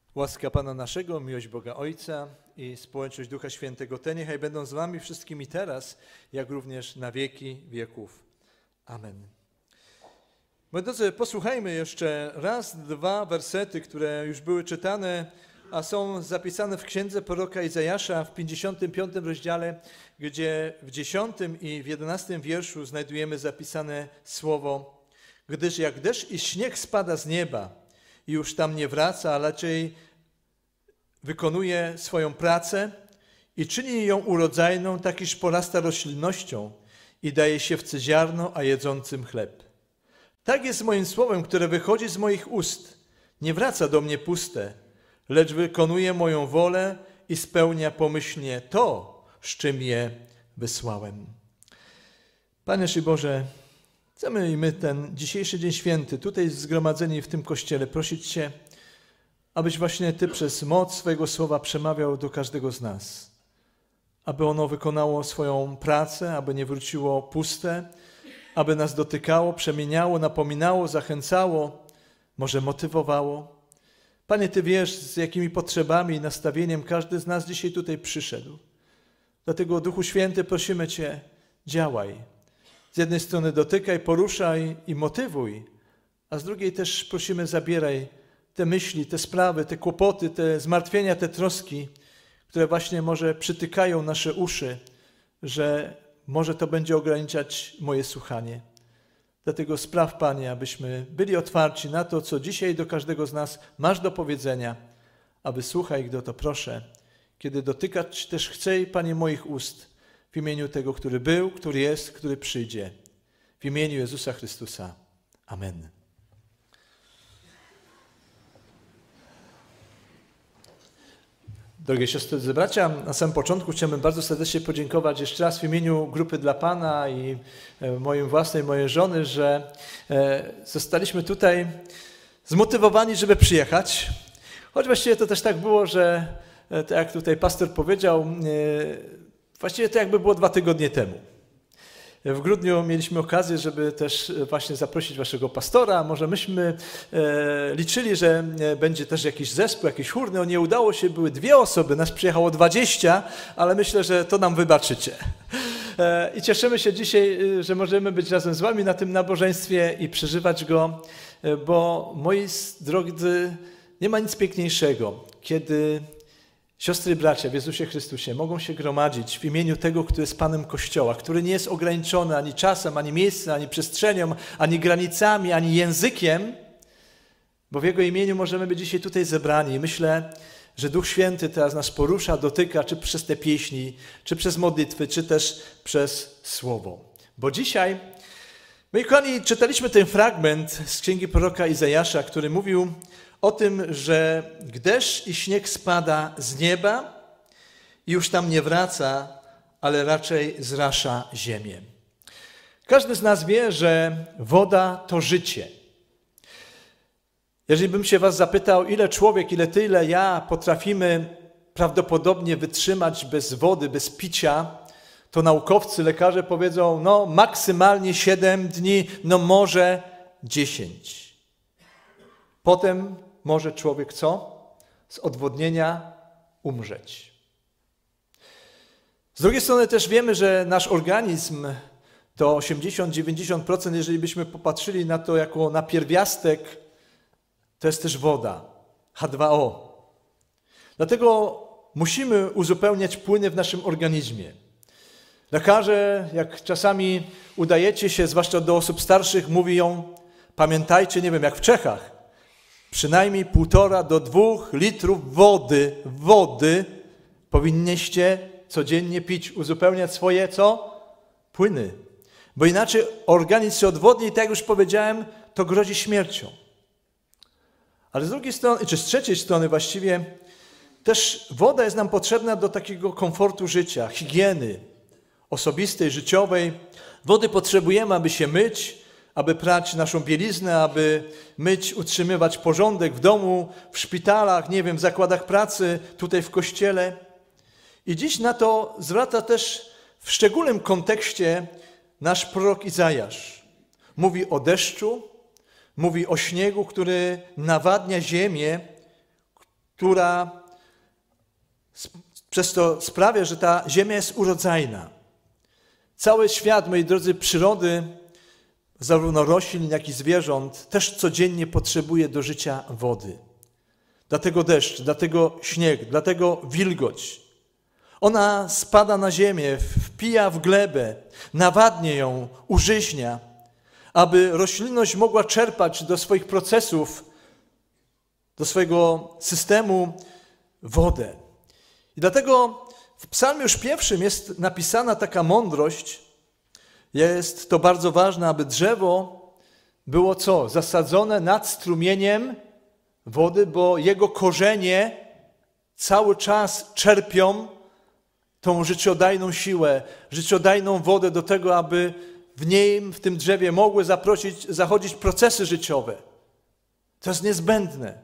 Łaska Pana naszego, miłość Boga Ojca i społeczność Ducha Świętego, te niechaj będą z wami wszystkimi teraz, jak również na wieki wieków. Amen. Moi drodzy, posłuchajmy jeszcze raz, dwa wersety, które już były czytane, a są zapisane w księdze proroka Izajasza w 55 rozdziale, gdzie w 10 i w 11 wierszu znajdujemy zapisane słowo: gdyż jak deszcz i śnieg spada z nieba i już tam nie wraca, a raczej wykonuje swoją pracę i czyni ją urodzajną, tak iż porasta roślinnością i daje siewcy ziarno, a jedzącym chleb. Tak jest moim słowem, które wychodzi z moich ust. Nie wraca do mnie puste, lecz wykonuje moją wolę i spełnia pomyślnie to, z czym je wysłałem. Panie nasz Boże, chcemy i my ten dzisiejszy Dzień Święty, tutaj zgromadzeni w tym kościele, prosić Cię, abyś właśnie Ty przez moc swojego słowa przemawiał do każdego z nas. Aby ono wykonało swoją pracę, aby nie wróciło puste, aby nas dotykało, przemieniało, napominało, zachęcało, może motywowało. Panie, Ty wiesz, z jakimi potrzebami i nastawieniem każdy z nas dzisiaj tutaj przyszedł. Dlatego, Duchu Święty, prosimy Cię, działaj. Z jednej strony dotykaj, poruszaj i motywuj, a z drugiej też prosimy, zabieraj te myśli, te sprawy, te kłopoty, te zmartwienia, te troski, które właśnie może przytykają nasze uszy, że może to będzie ograniczać moje słuchanie. Dlatego spraw, Panie, abyśmy byli otwarci na to, co dzisiaj do każdego z nas masz do powiedzenia, aby słuchaj, gdy o to proszę, kiedy dotykać też chcę, Panie, moich ust, w imieniu tego, który był, który jest, który przyjdzie. W imieniu Jezusa Chrystusa. Amen. Drogie siostry i bracia, na samym początku chciałbym bardzo serdecznie podziękować jeszcze raz w imieniu Grupy dla Pana i mojej żony, że zostaliśmy tutaj zmotywowani, żeby przyjechać. Choć właściwie to też tak było, że tak jak tutaj pastor powiedział, właściwie to jakby było 2 tygodnie temu. W grudniu mieliśmy okazję, żeby też właśnie zaprosić waszego pastora. Może myśmy liczyli, że będzie też jakiś zespół, jakiś chór. No nie udało się, były 2 osoby, nas przyjechało 20, ale myślę, że to nam wybaczycie. I cieszymy się dzisiaj, że możemy być razem z wami na tym nabożeństwie i przeżywać go, bo moi drodzy, nie ma nic piękniejszego, kiedy siostry i bracia w Jezusie Chrystusie mogą się gromadzić w imieniu tego, który jest Panem Kościoła, który nie jest ograniczony ani czasem, ani miejscem, ani przestrzenią, ani granicami, ani językiem, bo w Jego imieniu możemy być dzisiaj tutaj zebrani. I myślę, że Duch Święty teraz nas porusza, dotyka, czy przez te pieśni, czy przez modlitwy, czy też przez Słowo. Bo dzisiaj, moi kochani, czytaliśmy ten fragment z księgi proroka Izajasza, który mówił o tym, że deszcz i śnieg spada z nieba i już tam nie wraca, ale raczej zrasza ziemię. Każdy z nas wie, że woda to życie. Jeżeli bym się was zapytał, ile człowiek, ile ty, ile ja potrafimy prawdopodobnie wytrzymać bez wody, bez picia, to naukowcy, lekarze powiedzą, no maksymalnie 7 dni, no może 10. Potem może człowiek co? Z odwodnienia umrzeć. Z drugiej strony też wiemy, że nasz organizm to 80-90%, jeżeli byśmy popatrzyli na to jako na pierwiastek, to jest też woda, H2O. Dlatego musimy uzupełniać płyny w naszym organizmie. Lekarze, jak czasami udajecie się, zwłaszcza do osób starszych, mówią, pamiętajcie, nie wiem, jak w Czechach, przynajmniej 1,5 do 2 litrów wody powinniście codziennie pić, uzupełniać swoje co? Płyny. Bo inaczej organizm się odwodni i tak jak już powiedziałem, to grozi śmiercią. Ale z drugiej strony, czy z trzeciej strony właściwie, też woda jest nam potrzebna do takiego komfortu życia, higieny osobistej, życiowej. Wody potrzebujemy, aby się myć, aby prać naszą bieliznę, aby myć, utrzymywać porządek w domu, w szpitalach, nie wiem, w zakładach pracy, tutaj w kościele. I dziś na to zwraca też w szczególnym kontekście nasz prorok Izajasz. Mówi o deszczu, mówi o śniegu, który nawadnia ziemię, która przez to sprawia, że ta ziemia jest urodzajna. Cały świat, moi drodzy, przyrody, zarówno roślin, jak i zwierząt, też codziennie potrzebuje do życia wody. Dlatego deszcz, dlatego śnieg, dlatego wilgoć. Ona spada na ziemię, wpija w glebę, nawadnia ją, użyźnia, aby roślinność mogła czerpać do swoich procesów, do swojego systemu wodę. I dlatego w psalmie już pierwszym jest napisana taka mądrość. Jest to bardzo ważne, aby drzewo było co? Zasadzone nad strumieniem wody, bo jego korzenie cały czas czerpią tą życiodajną siłę, życiodajną wodę do tego, aby w niej, w tym drzewie mogły zachodzić procesy życiowe. To jest niezbędne.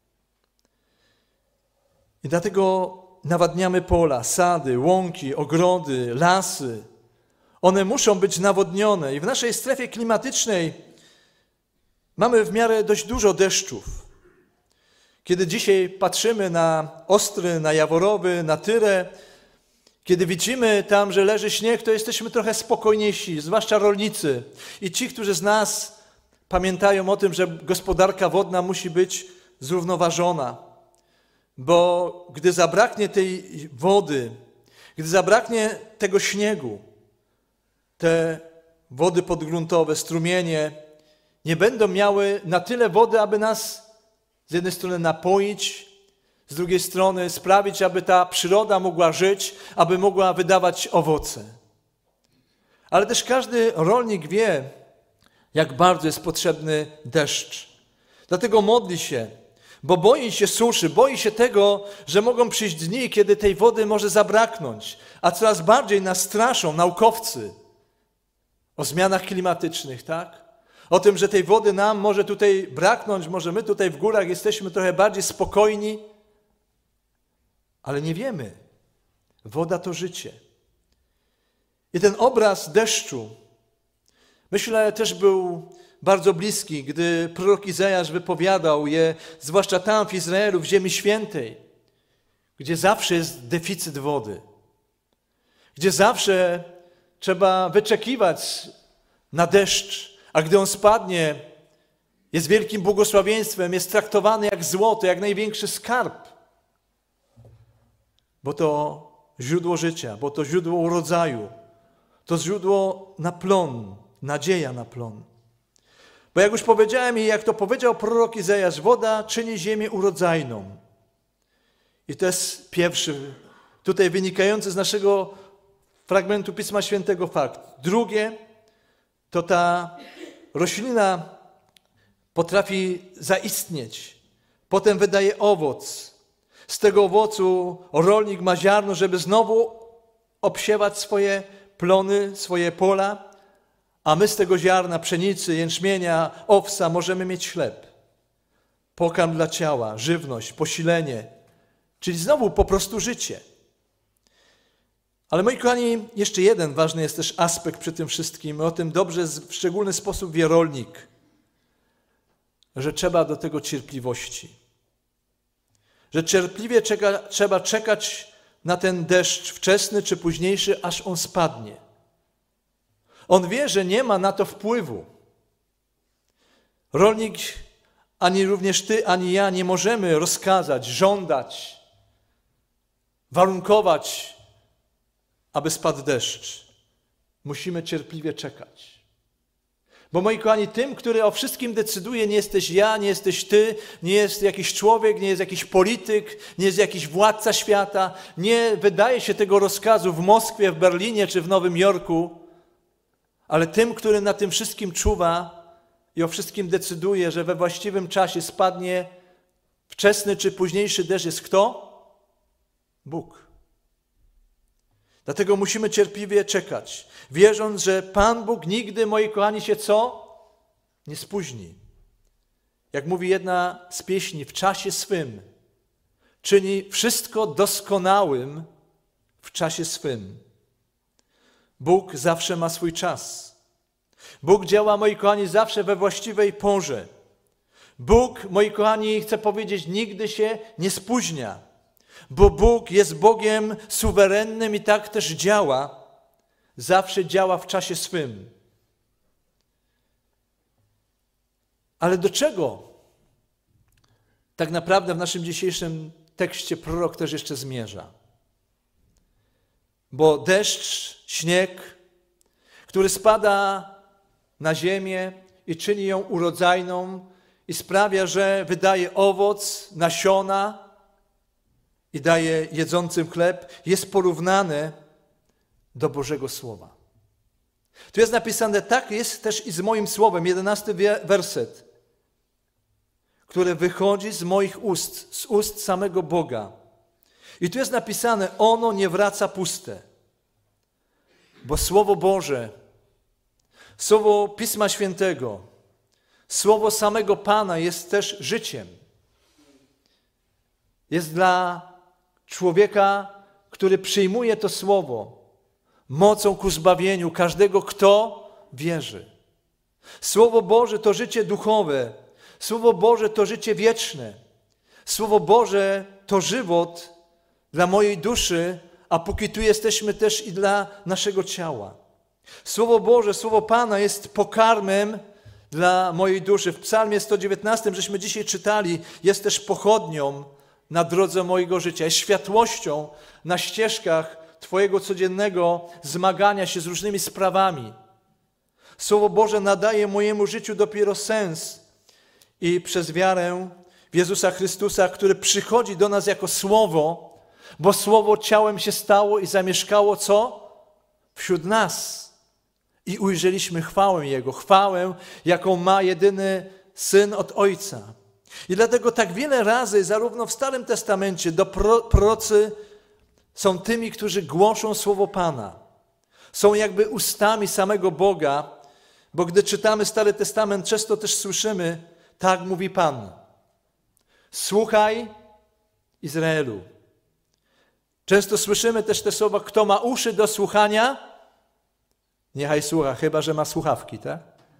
I dlatego nawadniamy pola, sady, łąki, ogrody, lasy. One muszą być nawodnione. I w naszej strefie klimatycznej mamy w miarę dość dużo deszczów. Kiedy dzisiaj patrzymy na Ostry, na Jaworowy, na Tyrę, kiedy widzimy tam, że leży śnieg, to jesteśmy trochę spokojniejsi, zwłaszcza rolnicy. I ci, którzy z nas pamiętają o tym, że gospodarka wodna musi być zrównoważona. Bo gdy zabraknie tej wody, gdy zabraknie tego śniegu, te wody podgruntowe, strumienie nie będą miały na tyle wody, aby nas z jednej strony napoić, z drugiej strony sprawić, aby ta przyroda mogła żyć, aby mogła wydawać owoce. Ale też każdy rolnik wie, jak bardzo jest potrzebny deszcz. Dlatego modli się, bo boi się suszy, boi się tego, że mogą przyjść dni, kiedy tej wody może zabraknąć, a coraz bardziej nas straszą naukowcy o zmianach klimatycznych, tak? O tym, że tej wody nam może tutaj braknąć, może my tutaj w górach jesteśmy trochę bardziej spokojni, ale nie wiemy. Woda to życie. I ten obraz deszczu, myślę, też był bardzo bliski, gdy prorok Izajasz wypowiadał je, zwłaszcza tam w Izraelu, w Ziemi Świętej, gdzie zawsze jest deficyt wody, gdzie zawsze trzeba wyczekiwać na deszcz, a gdy on spadnie, jest wielkim błogosławieństwem, jest traktowany jak złoto, jak największy skarb, bo to źródło życia, bo to źródło urodzaju, to źródło na plon, nadzieja na plon. Bo jak już powiedziałem i jak to powiedział prorok Izajasz, woda czyni ziemię urodzajną. I to jest pierwszy, tutaj wynikający z naszego fragmentu Pisma Świętego fakt. Drugie, to ta roślina potrafi zaistnieć, potem wydaje owoc. Z tego owocu rolnik ma ziarno, żeby znowu obsiewać swoje plony, swoje pola, a my z tego ziarna pszenicy, jęczmienia, owsa możemy mieć chleb, pokarm dla ciała, żywność, posilenie, czyli znowu po prostu życie. Ale moi kochani, jeszcze jeden ważny jest też aspekt przy tym wszystkim, o tym dobrze w szczególny sposób wie rolnik, że trzeba do tego cierpliwości. Że cierpliwie trzeba czekać na ten deszcz wczesny czy późniejszy, aż on spadnie. On wie, że nie ma na to wpływu. Rolnik, ani również ty, ani ja nie możemy rozkazać, żądać, warunkować, aby spadł deszcz. Musimy cierpliwie czekać. Bo moi kochani, tym, który o wszystkim decyduje, nie jesteś ja, nie jesteś ty, nie jest jakiś człowiek, nie jest jakiś polityk, nie jest jakiś władca świata, nie wydaje się tego rozkazu w Moskwie, w Berlinie czy w Nowym Jorku, ale tym, który na tym wszystkim czuwa i o wszystkim decyduje, że we właściwym czasie spadnie wczesny czy późniejszy deszcz, jest kto? Bóg. Dlatego musimy cierpliwie czekać, wierząc, że Pan Bóg nigdy, moi kochani, się co? Nie spóźni. Jak mówi jedna z pieśni, w czasie swym czyni wszystko doskonałym w czasie swym. Bóg zawsze ma swój czas. Bóg działa, moi kochani, zawsze we właściwej porze. Bóg, moi kochani, chcę powiedzieć, nigdy się nie spóźnia, bo Bóg jest Bogiem suwerennym i tak też działa. Zawsze działa w czasie swym. Ale do czego tak naprawdę w naszym dzisiejszym tekście prorok też jeszcze zmierza? Bo deszcz, śnieg, który spada na ziemię i czyni ją urodzajną i sprawia, że wydaje owoc, nasiona i daje jedzącym chleb, jest porównany do Bożego Słowa. Tu jest napisane, tak jest też i z moim słowem, 11 werset, które wychodzi z moich ust, z ust samego Boga. I tu jest napisane, ono nie wraca puste, bo Słowo Boże, Słowo Pisma Świętego, Słowo samego Pana jest też życiem. Jest dla człowieka, który przyjmuje to Słowo, mocą ku zbawieniu każdego, kto wierzy. Słowo Boże to życie duchowe. Słowo Boże to życie wieczne. Słowo Boże to żywot dla mojej duszy, a póki tu jesteśmy też i dla naszego ciała. Słowo Boże, Słowo Pana jest pokarmem dla mojej duszy. W Psalmie 119, żeśmy dzisiaj czytali, jest też pochodnią na drodze mojego życia, jest światłością na ścieżkach Twojego codziennego zmagania się z różnymi sprawami. Słowo Boże nadaje mojemu życiu dopiero sens i przez wiarę w Jezusa Chrystusa, który przychodzi do nas jako Słowo, bo Słowo ciałem się stało i zamieszkało co? Wśród nas. I ujrzeliśmy chwałę Jego, chwałę, jaką ma jedyny Syn od Ojca. I dlatego tak wiele razy, zarówno w Starym Testamencie, prorocy są tymi, którzy głoszą Słowo Pana. Są jakby ustami samego Boga, bo gdy czytamy Stary Testament, często też słyszymy, tak mówi Pan. Słuchaj, Izraelu. Często słyszymy też te słowa, kto ma uszy do słuchania, niechaj słucha, chyba że ma słuchawki, tak?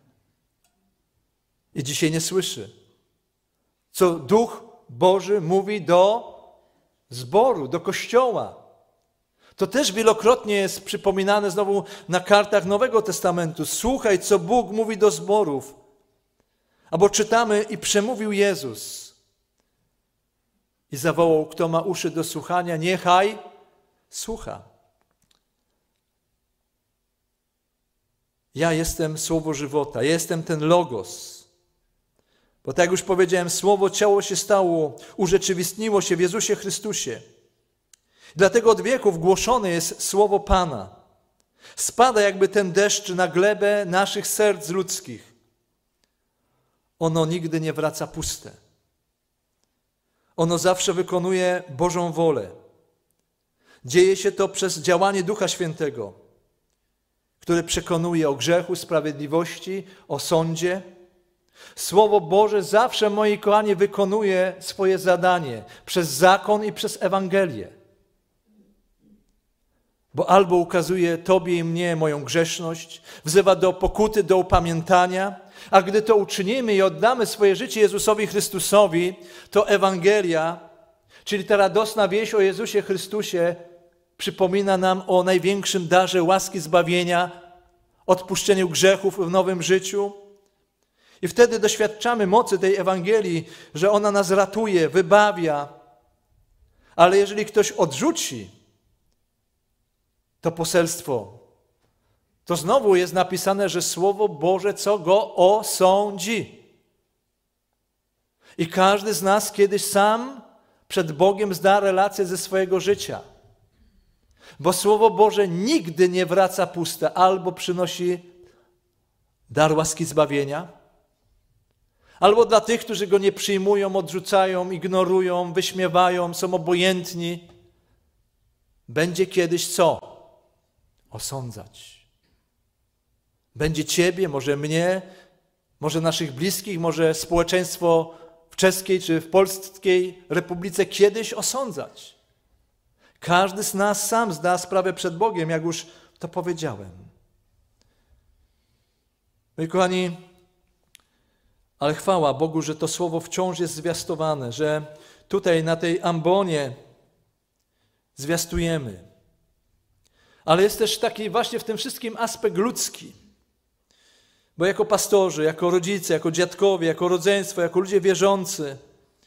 I dzisiaj nie słyszy. Co Duch Boży mówi do zboru, do Kościoła. To też wielokrotnie jest przypominane znowu na kartach Nowego Testamentu. Słuchaj, co Bóg mówi do zborów. Albo czytamy, i przemówił Jezus. I zawołał, kto ma uszy do słuchania, niechaj słucha. Ja jestem Słowo żywota, ja jestem ten Logos. Bo tak jak już powiedziałem, Słowo ciało się stało, urzeczywistniło się w Jezusie Chrystusie. Dlatego od wieków głoszone jest Słowo Pana. Spada jakby ten deszcz na glebę naszych serc ludzkich. Ono nigdy nie wraca puste. Ono zawsze wykonuje Bożą wolę. Dzieje się to przez działanie Ducha Świętego, który przekonuje o grzechu, sprawiedliwości, o sądzie. Słowo Boże zawsze, moi kochani, wykonuje swoje zadanie przez zakon i przez Ewangelię. Bo albo ukazuje Tobie i mnie moją grzeszność, wzywa do pokuty, do upamiętania, a gdy to uczynimy i oddamy swoje życie Jezusowi Chrystusowi, to Ewangelia, czyli ta radosna wieść o Jezusie Chrystusie, przypomina nam o największym darze łaski zbawienia, odpuszczeniu grzechów w nowym życiu. I wtedy doświadczamy mocy tej Ewangelii, że ona nas ratuje, wybawia. Ale jeżeli ktoś odrzuci to poselstwo, to znowu jest napisane, że Słowo Boże co go osądzi. I każdy z nas kiedyś sam przed Bogiem zda relację ze swojego życia. Bo Słowo Boże nigdy nie wraca puste, albo przynosi dar łaski zbawienia, albo dla tych, którzy go nie przyjmują, odrzucają, ignorują, wyśmiewają, są obojętni, będzie kiedyś co? Osądzać. Będzie ciebie, może mnie, może naszych bliskich, może społeczeństwo w czeskiej czy w polskiej republice kiedyś osądzać. Każdy z nas sam zda sprawę przed Bogiem, jak już to powiedziałem. Moi kochani, Ale chwała Bogu, że to słowo wciąż jest zwiastowane, że tutaj na tej ambonie zwiastujemy. Ale jest też taki właśnie w tym wszystkim aspekt ludzki. Bo jako pastorzy, jako rodzice, jako dziadkowie, jako rodzeństwo, jako ludzie wierzący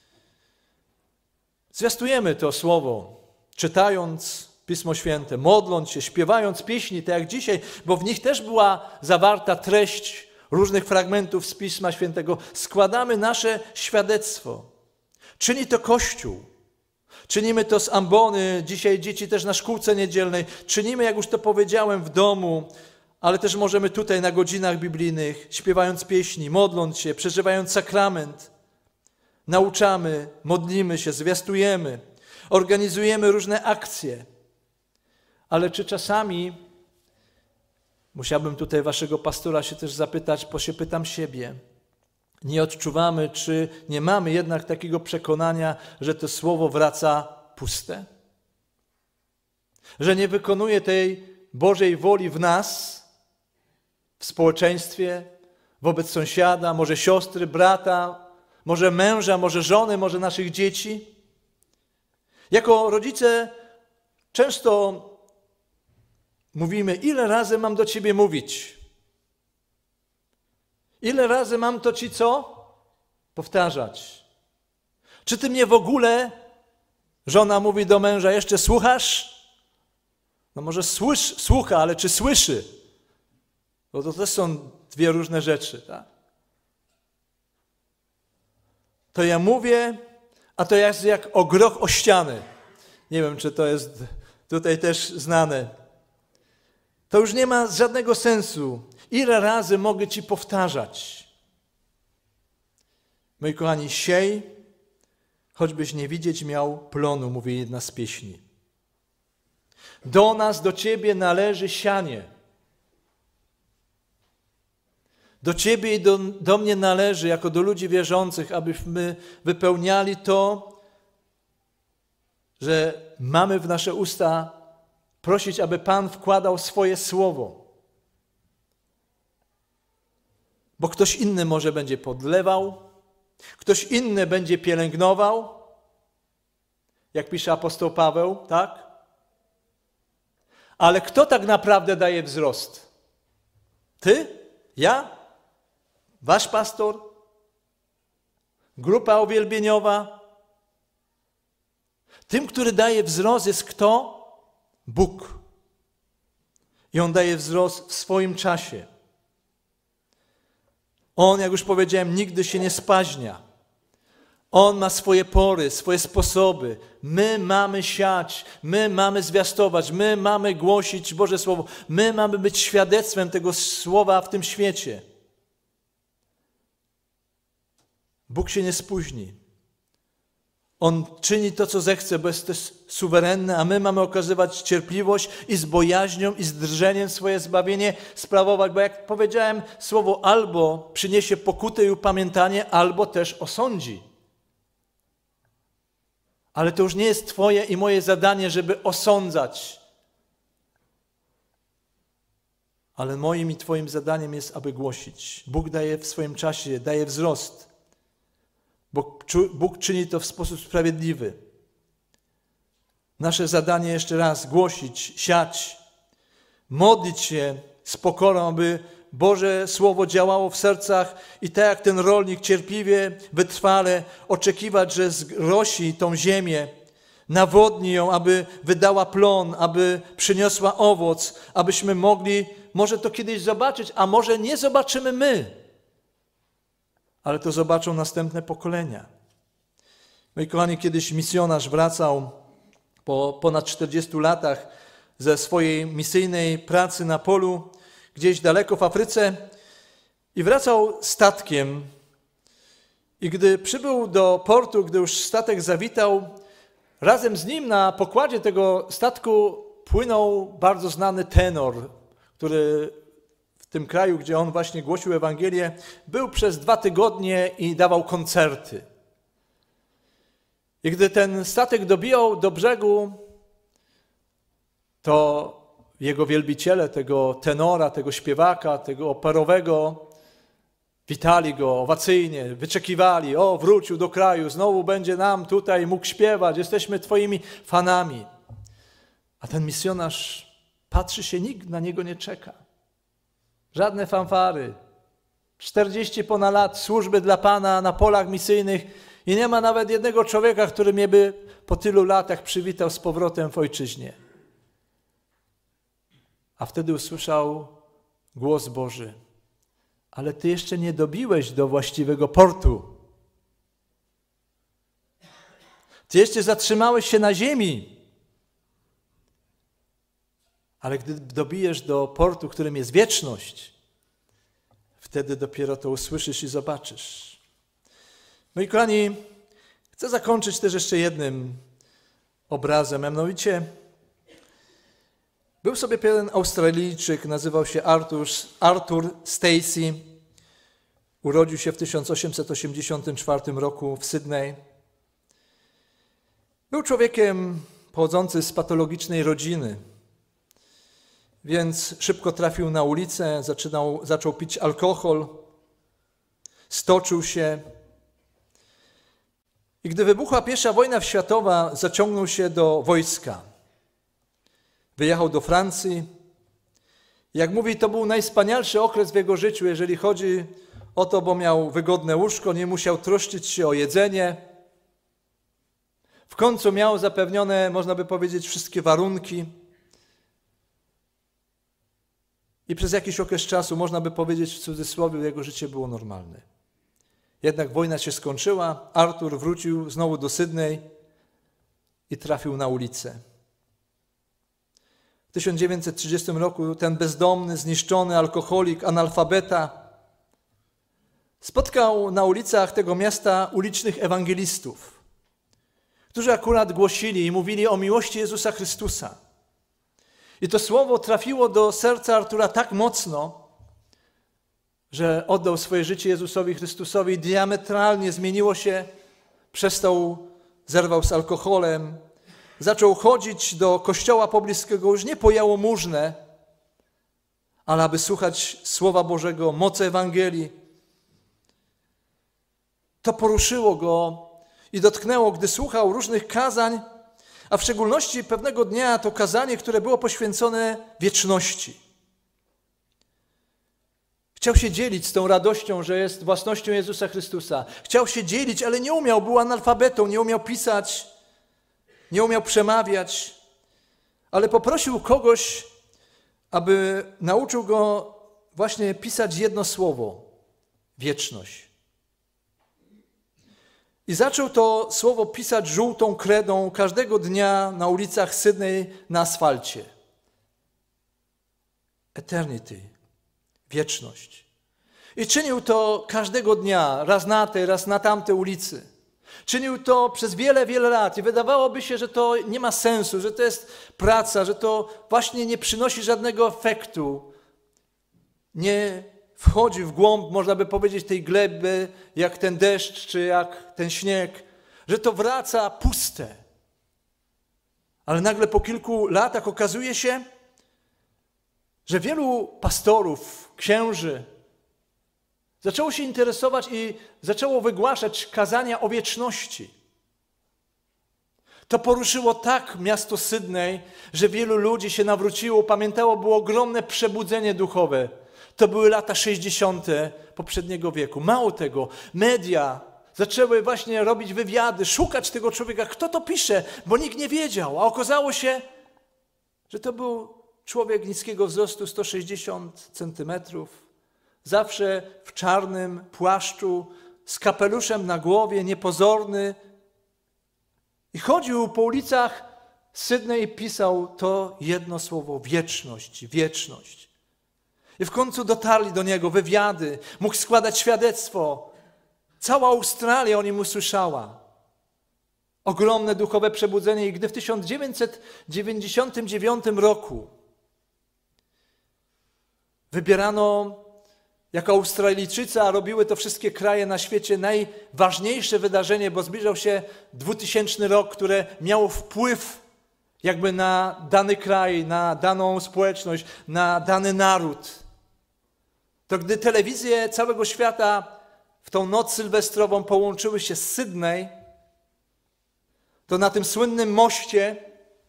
zwiastujemy to słowo, czytając Pismo Święte, modląc się, śpiewając pieśni, tak jak dzisiaj, bo w nich też była zawarta treść różnych fragmentów z Pisma Świętego. Składamy nasze świadectwo. Czyni to Kościół. Czynimy to z ambony, dzisiaj dzieci też na szkółce niedzielnej. Czynimy, jak już to powiedziałem, w domu, ale też możemy tutaj na godzinach biblijnych, śpiewając pieśni, modląc się, przeżywając sakrament. Nauczamy, modlimy się, zwiastujemy, organizujemy różne akcje. Ale czy czasami, musiałbym tutaj waszego pastora się też zapytać, bo się pytam siebie, nie odczuwamy, czy nie mamy jednak takiego przekonania, że to słowo wraca puste? Że nie wykonuje tej Bożej woli w nas, w społeczeństwie, wobec sąsiada, może siostry, brata, może męża, może żony, może naszych dzieci? Jako rodzice często mówimy, ile razy mam do ciebie mówić? Ile razy mam to ci co? Powtarzać. Czy ty mnie w ogóle, żona mówi do męża, jeszcze słuchasz? No może słucha, ale czy słyszy? Bo to też są dwie różne rzeczy, tak? To ja mówię, a to jest jak o groch o ścianę. Nie wiem, czy to jest tutaj też znane. To już nie ma żadnego sensu. Ile razy mogę ci powtarzać? Moi kochani, siej, choćbyś nie widzieć miał plonu, mówi jedna z pieśni. Do nas, do ciebie należy sianie. Do ciebie i do mnie należy, jako do ludzi wierzących, abyśmy wypełniali to, że mamy w nasze usta prosić, aby Pan wkładał swoje słowo. Bo ktoś inny może będzie podlewał, ktoś inny będzie pielęgnował, jak pisze apostoł Paweł, tak? Ale kto tak naprawdę daje wzrost? Ty? Ja? Wasz pastor? Grupa uwielbieniowa? Tym, który daje wzrost, jest kto? Bóg. I On daje wzrost w swoim czasie. On, jak już powiedziałem, nigdy się nie spaźnia. On ma swoje pory, swoje sposoby. My mamy siać, my mamy zwiastować, my mamy głosić Boże Słowo. My mamy być świadectwem tego Słowa w tym świecie. Bóg się nie spóźni. On czyni to, co zechce, bo jest też suwerenny, a my mamy okazywać cierpliwość i z bojaźnią i z drżeniem swoje zbawienie sprawować, bo jak powiedziałem, słowo albo przyniesie pokutę i upamiętanie, albo też osądzi. Ale to już nie jest twoje i moje zadanie, żeby osądzać. Ale moim i twoim zadaniem jest, aby głosić. Bóg daje w swoim czasie, daje wzrost. Bóg czyni to w sposób sprawiedliwy. Nasze zadanie jeszcze raz głosić, siać, modlić się z pokorą, aby Boże Słowo działało w sercach i tak jak ten rolnik cierpliwie, wytrwale oczekiwać, że zrosi tą ziemię, nawodni ją, aby wydała plon, aby przyniosła owoc, abyśmy mogli może to kiedyś zobaczyć, a może nie zobaczymy my, ale to zobaczą następne pokolenia. Moi kochani, kiedyś misjonarz wracał po ponad 40 latach ze swojej misyjnej pracy na polu, gdzieś daleko w Afryce i wracał statkiem. I gdy przybył do portu, gdy już statek zawitał, razem z nim na pokładzie tego statku płynął bardzo znany tenor, który w tym kraju, gdzie on właśnie głosił Ewangelię, był przez 2 tygodnie i dawał koncerty. I gdy ten statek dobijał do brzegu, to jego wielbiciele, tego tenora, tego śpiewaka, tego operowego, Witali go owacyjnie, wyczekiwali, o, wrócił do kraju, znowu będzie nam tutaj mógł śpiewać, jesteśmy twoimi fanami. A ten misjonarz patrzy się, nikt na niego nie czeka. Żadne fanfary. 40 ponad lat służby dla Pana na polach misyjnych i nie ma nawet jednego człowieka, który mnie by po tylu latach przywitał z powrotem w ojczyźnie. A wtedy usłyszał głos Boży. Ale ty jeszcze nie dobiłeś do właściwego portu. Ty jeszcze zatrzymałeś się na ziemi. Ale gdy dobijesz do portu, którym jest wieczność, wtedy dopiero to usłyszysz i zobaczysz. Moi kochani, chcę zakończyć też jeszcze jednym obrazem, a mianowicie był sobie pewien Australijczyk, nazywał się Arthur Stacey. Urodził się w 1884 roku w Sydney. Był człowiekiem pochodzący z patologicznej rodziny, więc szybko trafił na ulicę, zaczął pić alkohol, stoczył się. I gdy wybuchła I wojna światowa, zaciągnął się do wojska. Wyjechał do Francji. Jak mówi, to był najwspanialszy okres w jego życiu, jeżeli chodzi o to, bo miał wygodne łóżko, nie musiał troszczyć się o jedzenie. W końcu miał zapewnione, można by powiedzieć, wszystkie warunki. I przez jakiś okres czasu, można by powiedzieć w cudzysłowie, jego życie było normalne. Jednak wojna się skończyła, Artur wrócił znowu do Sydney i trafił na ulicę. W 1930 roku ten bezdomny, zniszczony alkoholik, analfabeta spotkał na ulicach tego miasta ulicznych ewangelistów, którzy akurat głosili i mówili o miłości Jezusa Chrystusa. I to słowo trafiło do serca Artura tak mocno, że oddał swoje życie Jezusowi Chrystusowi i diametralnie zmieniło się, zerwał z alkoholem, zaczął chodzić do kościoła pobliskiego już nie po jałmużnę, ale aby słuchać Słowa Bożego, mocy Ewangelii. To poruszyło go i dotknęło, gdy słuchał różnych kazań, a w szczególności pewnego dnia to kazanie, które było poświęcone wieczności. Chciał się dzielić z tą radością, że jest własnością Jezusa Chrystusa. Chciał się dzielić, ale nie umiał, był analfabetą, nie umiał pisać, nie umiał przemawiać, ale poprosił kogoś, aby nauczył go właśnie pisać jedno słowo – wieczność. I zaczął to słowo pisać żółtą kredą każdego dnia na ulicach Sydney na asfalcie. Eternity, wieczność. I czynił to każdego dnia, raz na tej, raz na tamtej ulicy. Czynił to przez wiele, wiele lat i wydawałoby się, że to nie ma sensu, że to jest praca, że to właśnie nie przynosi żadnego efektu. Nie wchodzi w głąb, można by powiedzieć, tej gleby, jak ten deszcz, czy jak ten śnieg, że to wraca puste. Ale nagle po kilku latach okazuje się, że wielu pastorów, księży zaczęło się interesować i zaczęło wygłaszać kazania o wieczności. To poruszyło tak miasto Sydney, że wielu ludzi się nawróciło, pamiętało, było ogromne przebudzenie duchowe. To były lata 60. poprzedniego wieku. Mało tego, media zaczęły właśnie robić wywiady, szukać tego człowieka, kto to pisze, bo nikt nie wiedział. A okazało się, że to był człowiek niskiego wzrostu, 160 centymetrów, zawsze w czarnym płaszczu, z kapeluszem na głowie, niepozorny. I chodził po ulicach Sydney i pisał to jedno słowo: wieczność, wieczność. I w końcu dotarli do niego wywiady, mógł składać świadectwo. Cała Australia o nim usłyszała. Ogromne duchowe przebudzenie. I gdy w 1999 roku wybierano jako Australijczycy, a robiły to wszystkie kraje na świecie, najważniejsze wydarzenie, bo zbliżał się 2000 rok, które miało wpływ jakby na dany kraj, na daną społeczność, na dany naród. to gdy telewizje całego świata w tą noc sylwestrową połączyły się z Sydney, to na tym słynnym moście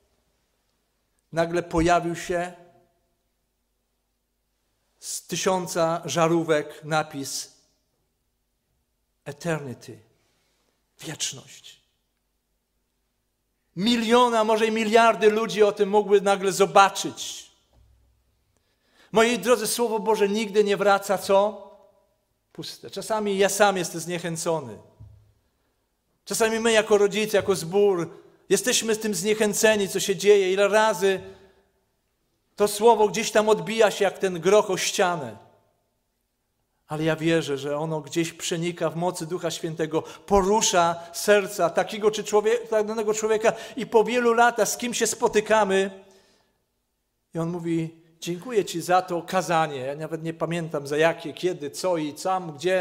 nagle pojawił się z 1000 żarówek napis Eternity, wieczność. Miliona, może i miliardy ludzi o tym mogły nagle zobaczyć. Moi drodzy, Słowo Boże nigdy nie wraca, co? Puste. Czasami ja sam jestem zniechęcony. Czasami my jako rodzice, jako zbór jesteśmy z tym zniechęceni, co się dzieje. Ile razy to Słowo gdzieś tam odbija się jak ten groch o ścianę. Ale ja wierzę, że ono gdzieś przenika w mocy Ducha Świętego, porusza serca takiego czy danego człowieka i po wielu latach z kim się spotykamy i on mówi: dziękuję Ci za to kazanie. Ja nawet nie pamiętam za jakie, kiedy, co i tam, gdzie.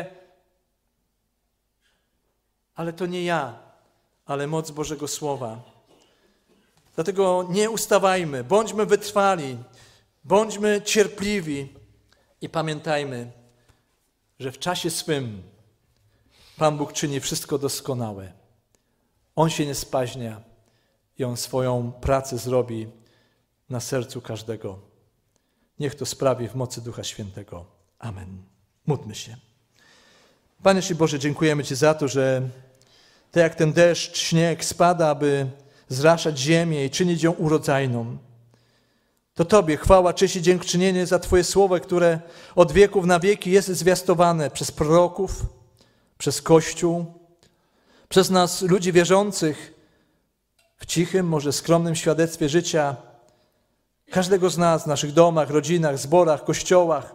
Ale to nie ja, ale moc Bożego Słowa. Dlatego nie ustawajmy, bądźmy wytrwali, bądźmy cierpliwi i pamiętajmy, że w czasie swym Pan Bóg czyni wszystko doskonałe. On się nie spaźnia i On swoją pracę zrobi na sercu każdego. Niech to sprawi w mocy Ducha Świętego. Amen. Módlmy się. Panie Boże, dziękujemy Ci za to, że tak jak ten deszcz, śnieg spada, aby zraszać ziemię i czynić ją urodzajną, to Tobie chwała, cześć i dziękczynienie za Twoje słowo, które od wieków na wieki jest zwiastowane przez proroków, przez Kościół, przez nas, ludzi wierzących, w cichym, może skromnym świadectwie życia każdego z nas w naszych domach, rodzinach, zborach, kościołach.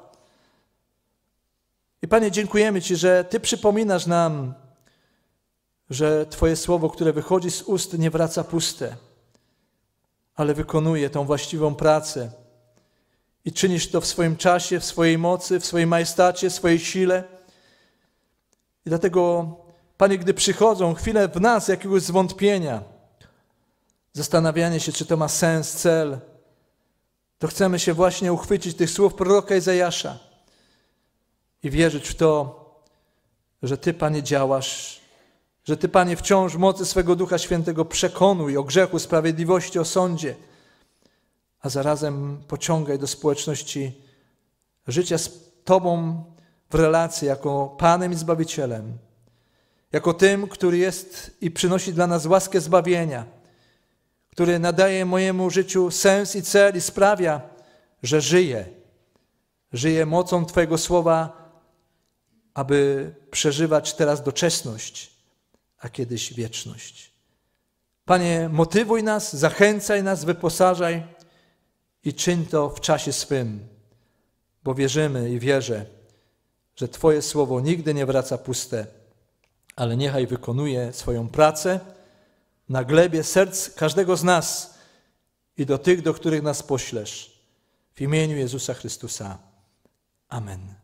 I Panie, dziękujemy Ci, że Ty przypominasz nam, że Twoje słowo, które wychodzi z ust, nie wraca puste, ale wykonuje tą właściwą pracę. I czynisz to w swoim czasie, w swojej mocy, w swojej majestacie, w swojej sile. I dlatego, Panie, gdy przychodzą chwile w nas jakiegoś zwątpienia, zastanawianie się, czy to ma sens, cel, to chcemy się właśnie uchwycić tych słów proroka Izajasza i wierzyć w to, że Ty, Panie, działasz, że Ty, Panie, wciąż w mocy swego Ducha Świętego przekonuj o grzechu, sprawiedliwości, o sądzie, a zarazem pociągaj do społeczności życia z Tobą w relacji jako Panem i Zbawicielem, jako tym, który jest i przynosi dla nas łaskę zbawienia, który nadaje mojemu życiu sens i cel i sprawia, że żyję mocą Twojego słowa, aby przeżywać teraz doczesność, a kiedyś wieczność. Panie, motywuj nas, zachęcaj nas, wyposażaj i czyń to w czasie swym, bo wierzymy i wierzę, że Twoje słowo nigdy nie wraca puste, ale niechaj wykonuje swoją pracę na glebie serc każdego z nas i do tych, do których nas poślesz. W imieniu Jezusa Chrystusa. Amen.